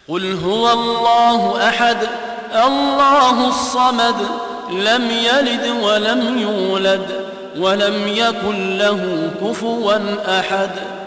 قل هو الله أحد الله الصمد لم يلد ولم يولد ولم يكن له كفوا أحد.